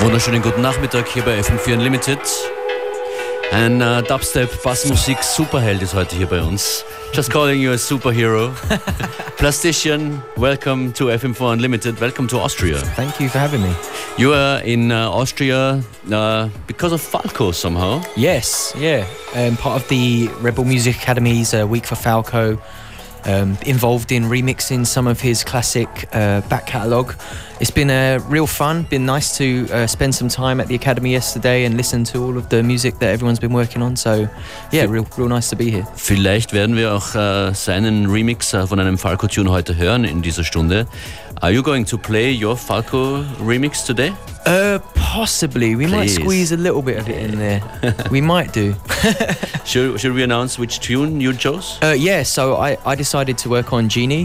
Wunderschönen guten Nachmittag hier bei FM4 Unlimited. Ein Dubstep-Bassmusik Superheld ist heute hier bei uns. Just calling you a superhero. Plastician, welcome to FM4 Unlimited. Welcome to Austria. Thank you for having me. You are in Austria because of Falco somehow. Yes, yeah. Part of the Rebel Music Academy's Week for Falco. Involved in remixing some of his classic back catalogue. It's been real fun, been nice to spend some time at the Academy yesterday and listen to all of the music that everyone's been working on, so yeah, real nice to be here. Vielleicht werden wir auch seinen Remix von einem Falco-Tune heute hören in dieser Stunde. Are you going to play your Falco remix today? Possibly. We might squeeze a little bit of it in there. We might do. Should we announce which tune you chose? Yeah, so I decided to work on Genie.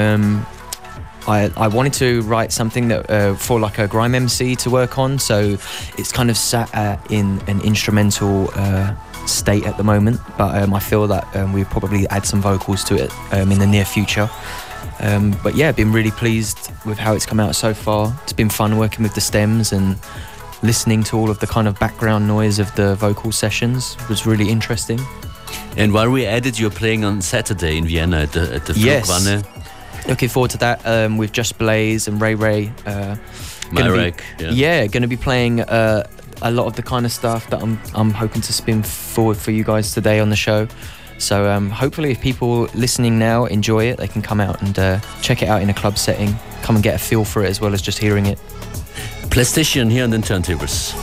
I wanted to write something that for like a grime MC to work on, so it's kind of sat in an instrumental state at the moment, but I feel that we'll probably add some vocals to it in the near future. But yeah, been really pleased with how it's come out so far. It's been fun working with the stems and listening to all of the kind of background noise of the vocal sessions. It was really interesting. And while we added, you're playing on Saturday in Vienna at the Flugwanne. Looking forward to that with Just Blaze and Ray. Myrek, going to be playing a lot of the kind of stuff that I'm hoping to spin forward for you guys today on the show. So hopefully if people listening now enjoy it, they can come out and check it out in a club setting, come and get a feel for it as well as just hearing it. Plastician here on the turntables.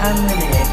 and Lillian.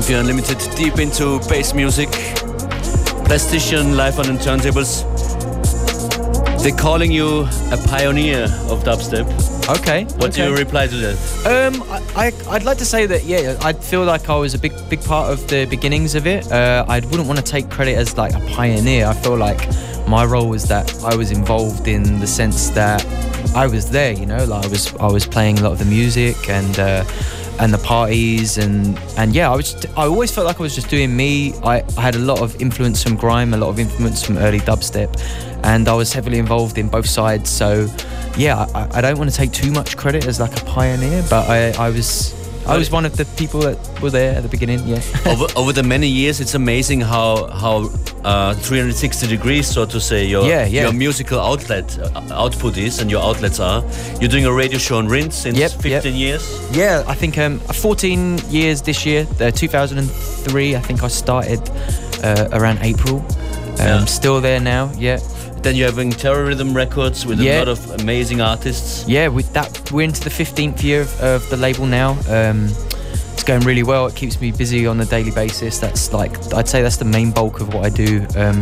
FM4 Unlimited, deep into bass music. Plastician live on the turntables. They're calling you a pioneer of dubstep. Okay. What do you reply to that? I'd like to say that, yeah, I feel like I was a big part of the beginnings of it. I wouldn't want to take credit as like a pioneer. I feel like my role was that I was involved in the sense that I was there, you know, like I was playing a lot of the music and the parties and yeah, I always felt like I was just doing me. I had a lot of influence from grime, a lot of influence from early dubstep, and I was heavily involved in both sides. So yeah, I don't want to take too much credit as like a pioneer, but I was one of the people that were there at the beginning. Yeah. over the many years, it's amazing how 360 degrees, so to say, your musical output is, and your outlets are. You're doing a radio show on Rinse since 15 years. Yeah, I think 14 years this year. 2003, I think I started around April. Still there now. Yeah. Then you're having Terror Rhythm Records with a lot of amazing artists. Yeah, with that, we're into the 15th year of the label now. It's going really well. It keeps me busy on a daily basis. That's like, I'd say that's the main bulk of what I do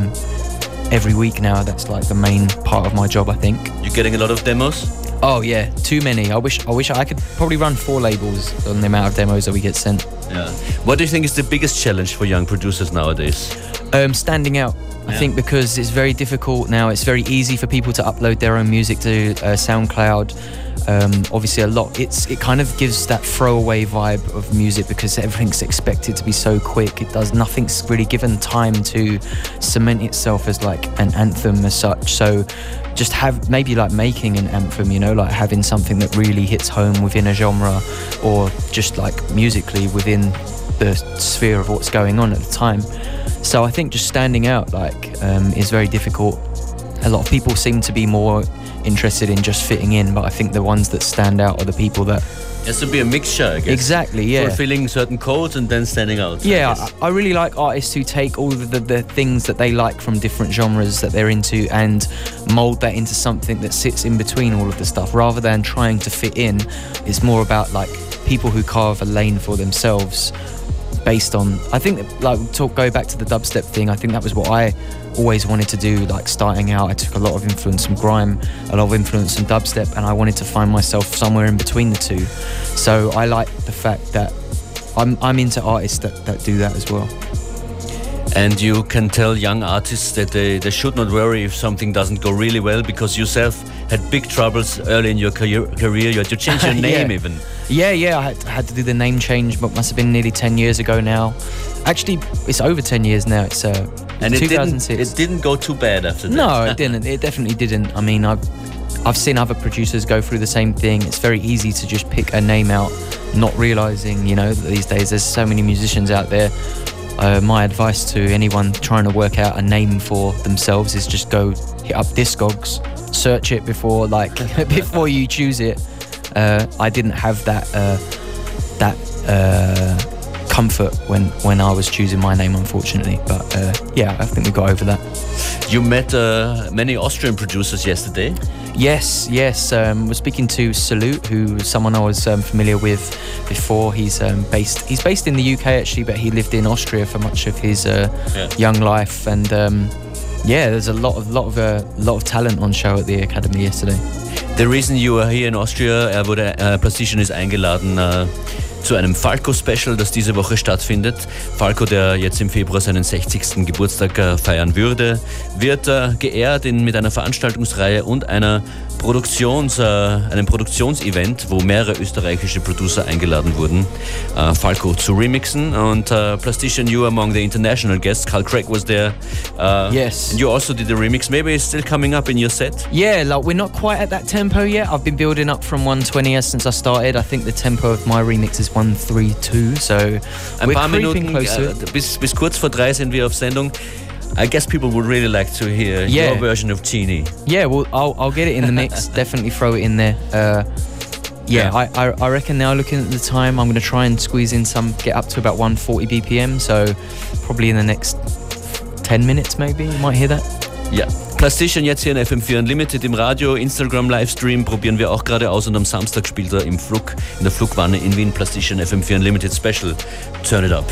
every week now. That's like the main part of my job, I think. You're getting a lot of demos? Oh yeah, too many. I wish I could probably run 4 labels on the amount of demos that we get sent. Yeah. What do you think is the biggest challenge for young producers nowadays? Standing out. I think because it's very difficult now. It's very easy for people to upload their own music to SoundCloud. Obviously, it kind of gives that throwaway vibe of music because everything's expected to be so quick. Nothing's really given time to cement itself as like an anthem as such. So just have maybe like making an anthem, you know, like having something that really hits home within a genre, or just like musically within the sphere of what's going on at the time. So I think just standing out is very difficult. A lot of people seem to be more interested in just fitting in, but I think the ones that stand out are the people that... It has to be a mixture, I guess. Exactly, yeah. Fulfilling certain codes and then standing out. Yeah, I really like artists who take all the things that they like from different genres that they're into and mould that into something that sits in between all of the stuff, rather than trying to fit in. It's more about like people who carve a lane for themselves based on, I think that, go back to the dubstep thing, I think that was what I always wanted to do, like starting out. I took a lot of influence from grime, a lot of influence from dubstep, and I wanted to find myself somewhere in between the two. So I like the fact that I'm into artists that do that as well. And you can tell young artists that they should not worry if something doesn't go really well, because yourself had big troubles early in your career. You had to change your name even. Yeah, I had to do the name change, but must have been nearly 10 years ago now. Actually, it's over 10 years now. It's and 2006. It didn't go too bad after that. No, it didn't. It definitely didn't. I mean, I've seen other producers go through the same thing. It's very easy to just pick a name out, not realizing, you know, that these days there's so many musicians out there. My advice to anyone trying to work out a name for themselves is just go hit up Discogs, search it before before you choose it. I didn't have that comfort when I was choosing my name, unfortunately. But yeah, I think we got over that. You met many Austrian producers yesterday. Yes. We're speaking to Salute, who is someone I was familiar with before. He's based in the UK actually, but he lived in Austria for much of his young life. And there's a lot of talent on show at the Academy yesterday. The reason you are here in Austria, wurde Plastician ist eingeladen zu einem Falco-Special, das diese Woche stattfindet. Falco, der jetzt im Februar seinen 60. Geburtstag feiern wird geehrt mit einer Veranstaltungsreihe und einem Produktionsevent, wo mehrere österreichische Producer eingeladen wurden, Falco zu remixen. Und Plastician, you among the international guests. Carl Craig was there. Yes. And you also did the remix. Maybe it's still coming up in your set? Yeah, like we're not quite at that tempo yet. I've been building up from 120 since I started. I think the tempo of my remix is 132, so ein paar Minuten bis kurz vor 3 sind wir auf Sendung. I guess people would really like to hear your version of Genie. Yeah, well, I'll get it in the mix. Definitely throw it in there. I reckon now, looking at the time, I'm going to try and squeeze in get up to about 140 BPM. So probably in the next 10 minutes, maybe you might hear that. Yeah. Plastician jetzt hier in FM4 Unlimited im Radio, Instagram Livestream probieren wir auch gerade aus und am Samstag spielt er in der Flugwanne in Wien. Plastician FM4 Unlimited Special. Turn it up.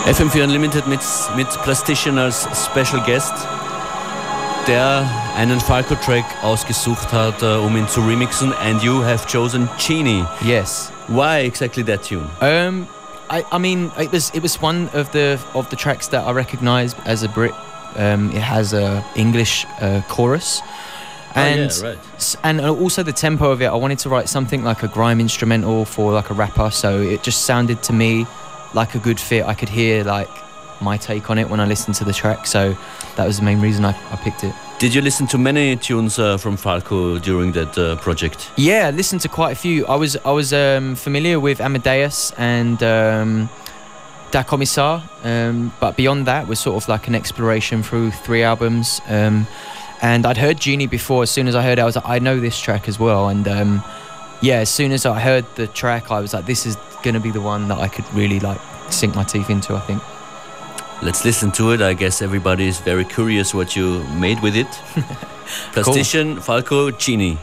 FM4 Unlimited mit Plastician als Special Guest, der einen Falco-Track ausgesucht hat, ihn zu remixen. And you have chosen Genie. Yes. Why exactly that tune? I mean, it was one of the tracks that I recognised as a Brit. It has a English chorus. And, and also the tempo of it, I wanted to write something like a grime instrumental for like a rapper, so it just sounded to me like a good fit. I could hear like my take on it when I listened to the track, so that was the main reason I picked it. Did you listen to many tunes from Falco during that project? Yeah, I listened to quite a few. I was familiar with Amadeus and Da Commissar, but beyond that was sort of like an exploration through 3 albums. And I'd heard Genie before. As soon as I heard it, I was like, I know this track as well. And yeah, as soon as I heard the track, I was like, this is going to be the one that I could really like sink my teeth into, I think. Let's listen to it. I guess everybody is very curious what you made with it. Plastician, cool. Falco, Genie.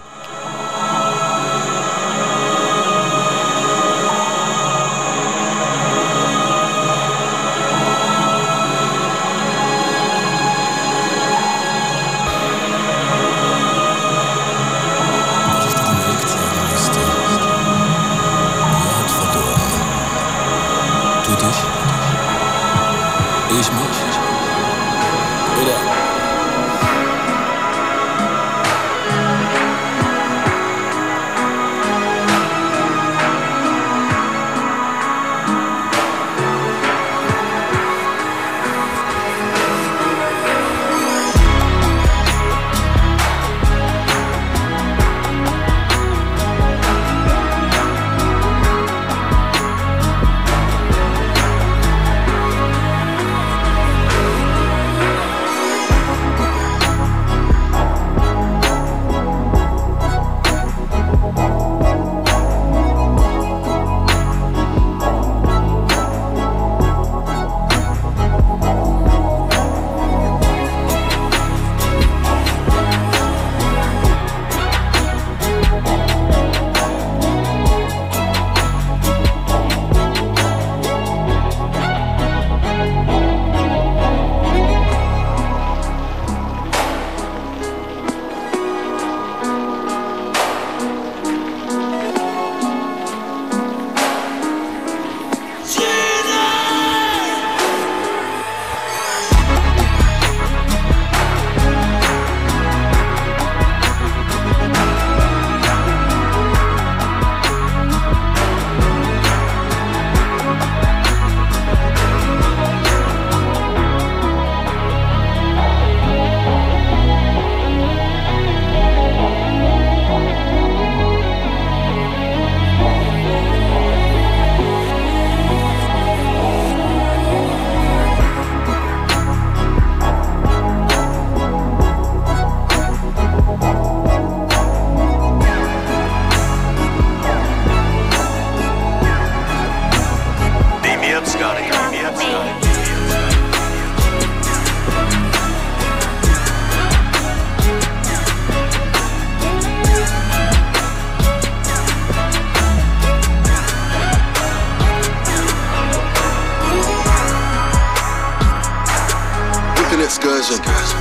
Excursion.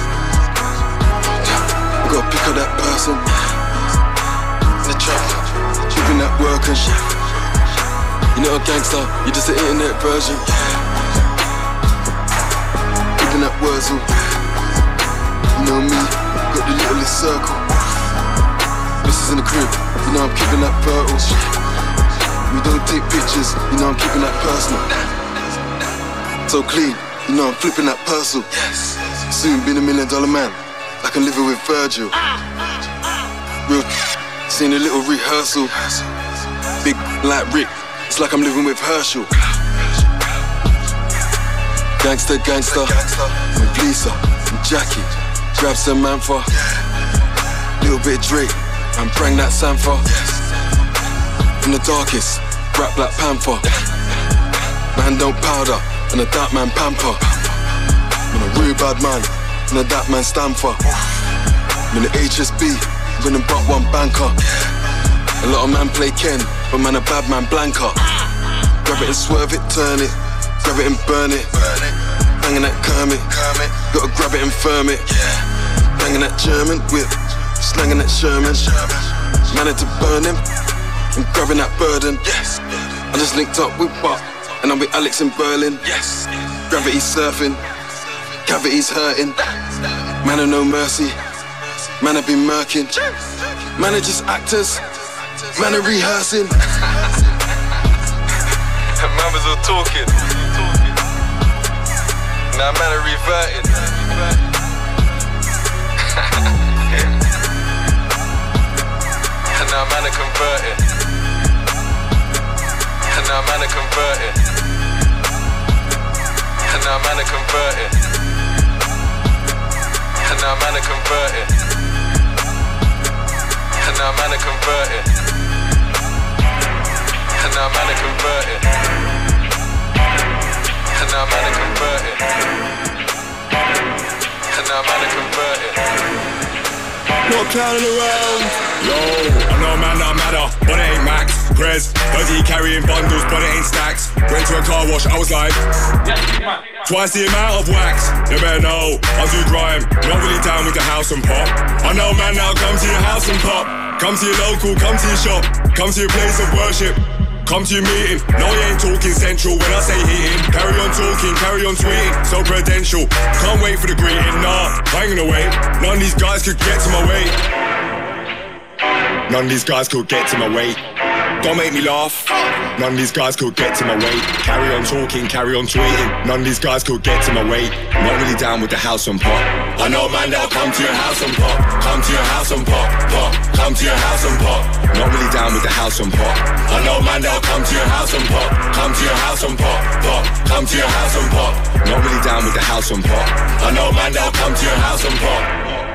We gotta pick up that person in the trap, keeping that working. You're not a gangster, you're just an internet version. Keeping that Wurzel. You know me, got the littlest circle. This is in the crib, you know I'm keeping that fertile. We don't take pictures, you know I'm keeping that personal. So clean, you know I'm flipping that parcel. Soon been $1 million man, like I'm living with Virgil. Real seen a little rehearsal. Big like Rick, it's like I'm living with Herschel. Gangster, gangster, with Lisa and Jackie. Grab some Manfa, little bit of Drake, and bring that Sanfa. In the darkest, rap Black Panther. Man don't powder, and a dark man pamper. I'm a real bad man, and a that man stand for. I'm in the HSB, winning but one banker. A lot of man play Ken, but man a bad man blanker. Grab it and swerve it, turn it, grab it and burn it. Banging that Kermit, gotta grab it and firm it. Banging that German whip, slanging that Sherman. Managed to burn him, I'm grabbing that burden. I just linked up with Buck, and I'm with Alex in Berlin. Gravity surfing, cavities hurting. Man of no mercy, man have been murking. Man are just actors, man are rehearsing. Man was all talking, now man are reverting. And now man are converting. And now man are converting. And now man are converting. And now man are converting. And now man are converting. And now man are converting. And now man are converting. And now man are converting. No clowning around. Yo, I know man that matter, but it ain't Max. Prez, dirty carrying bundles, but it ain't stacks. Went to a car wash, I was like, twice the amount of wax. You better know, I do grime, not really down with the house and pop. I know man now, come to your house and pop. Come to your local, come to your shop, come to your place of worship. Come to your meeting, no you ain't talking central when I say heating. Carry on talking, carry on tweeting, so prudential. Can't wait for the greeting, nah, I ain't gonna wait. None of these guys could get to my weight. None of these guys could get to my weight. Don't make me laugh. None of these guys could get to my weight. Carry on talking, carry on tweeting. None of these guys could get to my weight. Not really down with the house and pop. I know man, they'll come to your house and pop. Come to your house and pop, pop. Come to your house and pop. Not really down with the house and pop. I know man, they'll come to your house and pop. Come to your house and pop, pop. Come to your house and pop. Not really down with the house and pop. I know man, they'll come to your house and pop.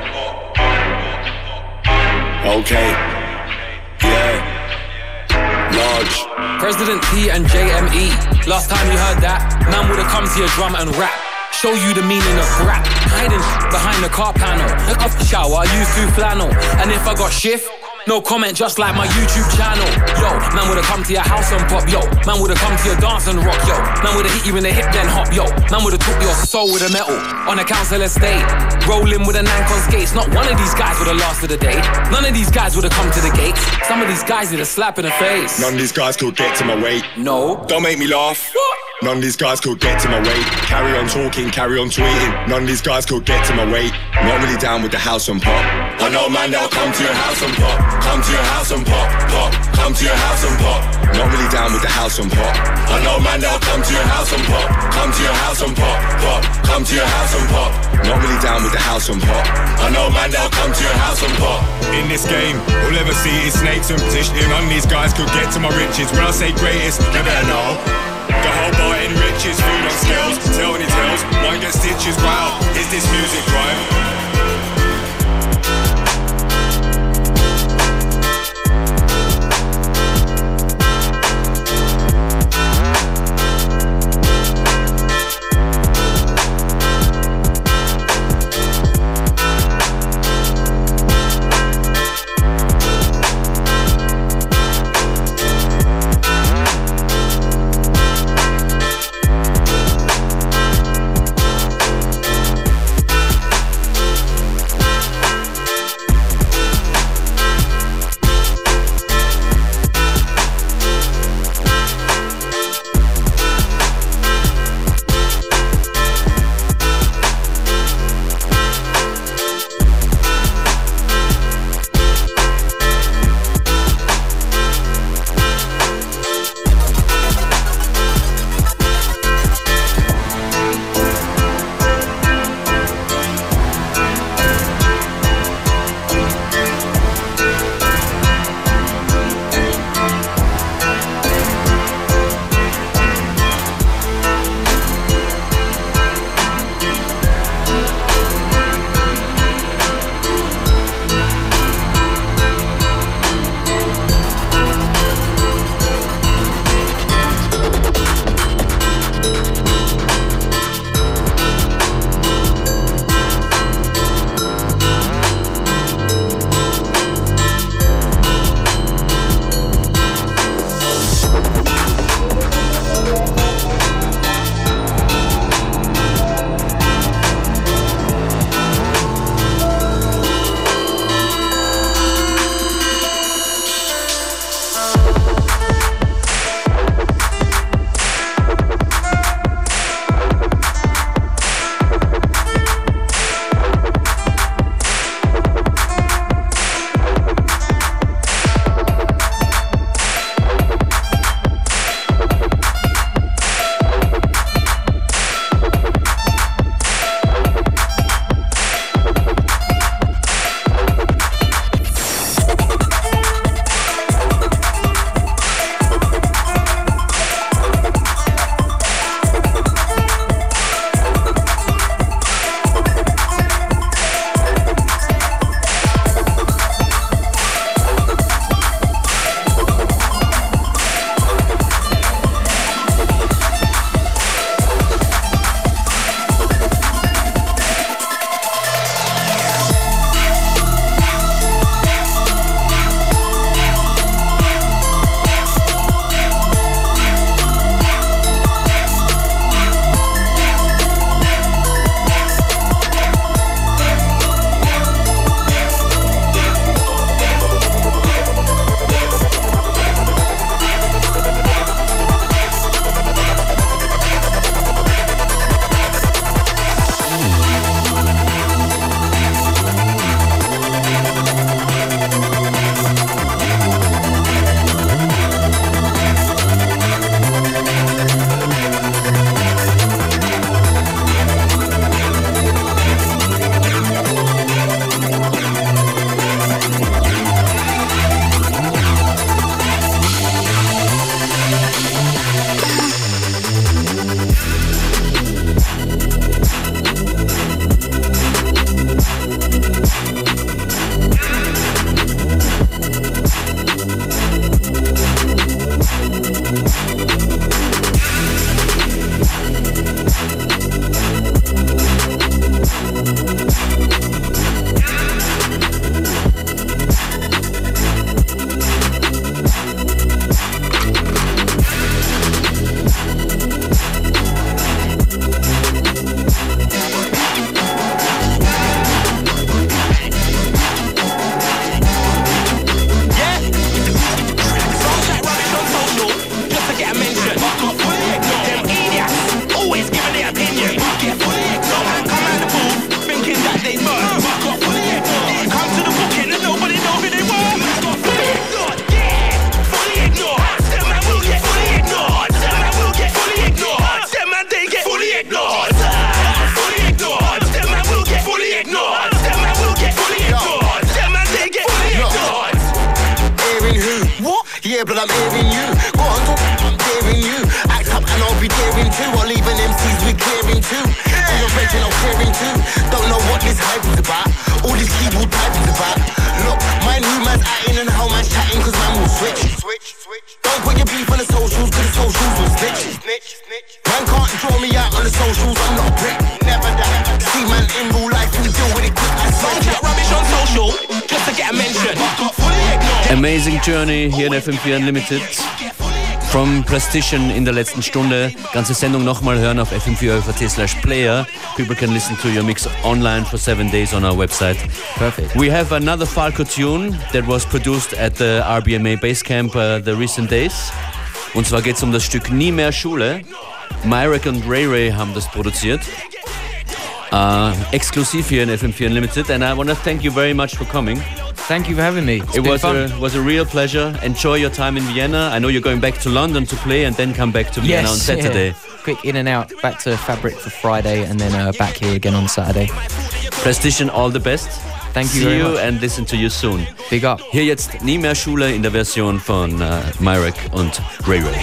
Okay. Yeah. Large. President T and JME. Last time you heard that, man would've come to your drum and rap. Show you the meaning of rap. Hiding behind the car panel. Look up the shower, I use 2 flannel. And if I got shift, no comment, just like my YouTube channel. Yo, man would've come to your house and pop. Yo, man would've come to your dance and rock. Yo, man would've hit you in the hip then hop. Yo, man would've took your soul with a metal on a council estate. Rolling with a Nank on skates. Not one of these guys would've lasted a day. None of these guys would've come to the gates. Some of these guys need a slap in the face. None of these guys could get to my weight. No. Don't make me laugh. None of these guys could get to my weight. Carry on talking, carry on tweeting. None of these guys could get to my weight. Not really down with the house and pop. I know man, they'll come to your house and pop. Come to your house and pop, pop. Come to your house and pop. Not really down with the house and pop. I know man, they'll come to your house and pop. Come to your house and pop, pop. Come to your house and pop. Not really down with the house and pop. I know man, they'll come to your house and pop. In this game, all ever see is snakes and positioning. None of these guys could get to my riches. When I say greatest, you better know. The whole bar enriches, food on skills, telling it tells, one gets stitches, wow, is this music right? Yeah, but I'm hearing you. Go on, talk, I'm daring you. Act up and I'll be daring too. I'll leave an MCs with clearing too. And your friends and I'm clearing too. Don't know what this hype is about. All this keyboard type is about. Look, my new man's acting and how man's chatting, cause man will switch. Don't put your beef on the socials, cause the socials will snitch. Man can't draw me out on the socials, I'm not a prick. Never that. See man in real life, we deal with it quick. I don't chat rubbish on social, just to get a mention. Amazing Journey hier in FM4 Unlimited. From Plastician in der letzten Stunde. Ganze Sendung nochmal hören auf fm4.at/player. People can listen to your mix online for 7 days on our website. Perfect. We have another Falco tune that was produced at the RBMA Basecamp the recent days. Und zwar geht es um das Stück Nie mehr Schule. Myrek und Ray Ray haben das produziert. Exklusiv hier in FM4 Unlimited. And I want to thank you very much for coming. Thank you for having me. It was a real pleasure. Enjoy your time in Vienna. I know you're going back to London to play and then come back to Vienna on Saturday. Yeah. Quick in and out, back to Fabric for Friday and then back here again on Saturday. Plastician, all the best. Thank you See very you much. and listen to you soon. Big up. Hier jetzt Nie mehr Schule in der Version von Myrek und Ray Ray.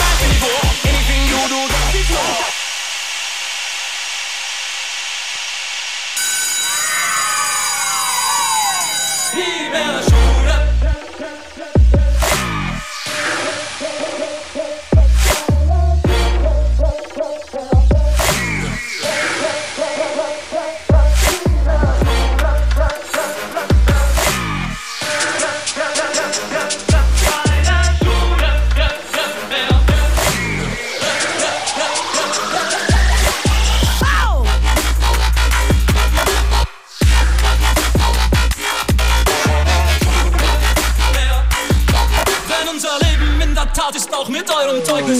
Ist auch mit eurem Zeugnis.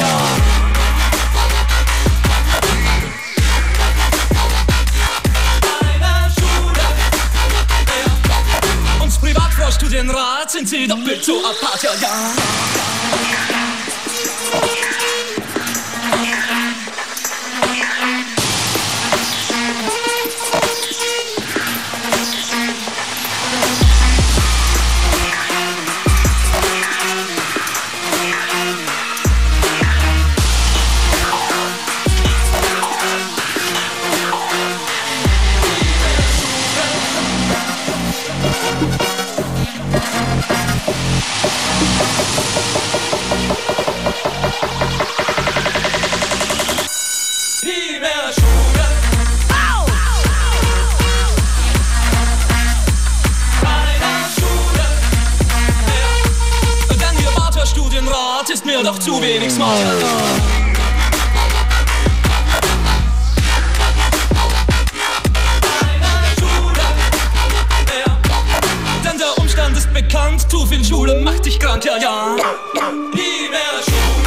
Uns Privatvorstudienrat sind sie doppelt so apart, ja, ja. Ist mir doch zu wenig smart. Denn der Umstand ist bekannt, zu viel Schule macht dich krank, ja, ja. Nie mehr Schule.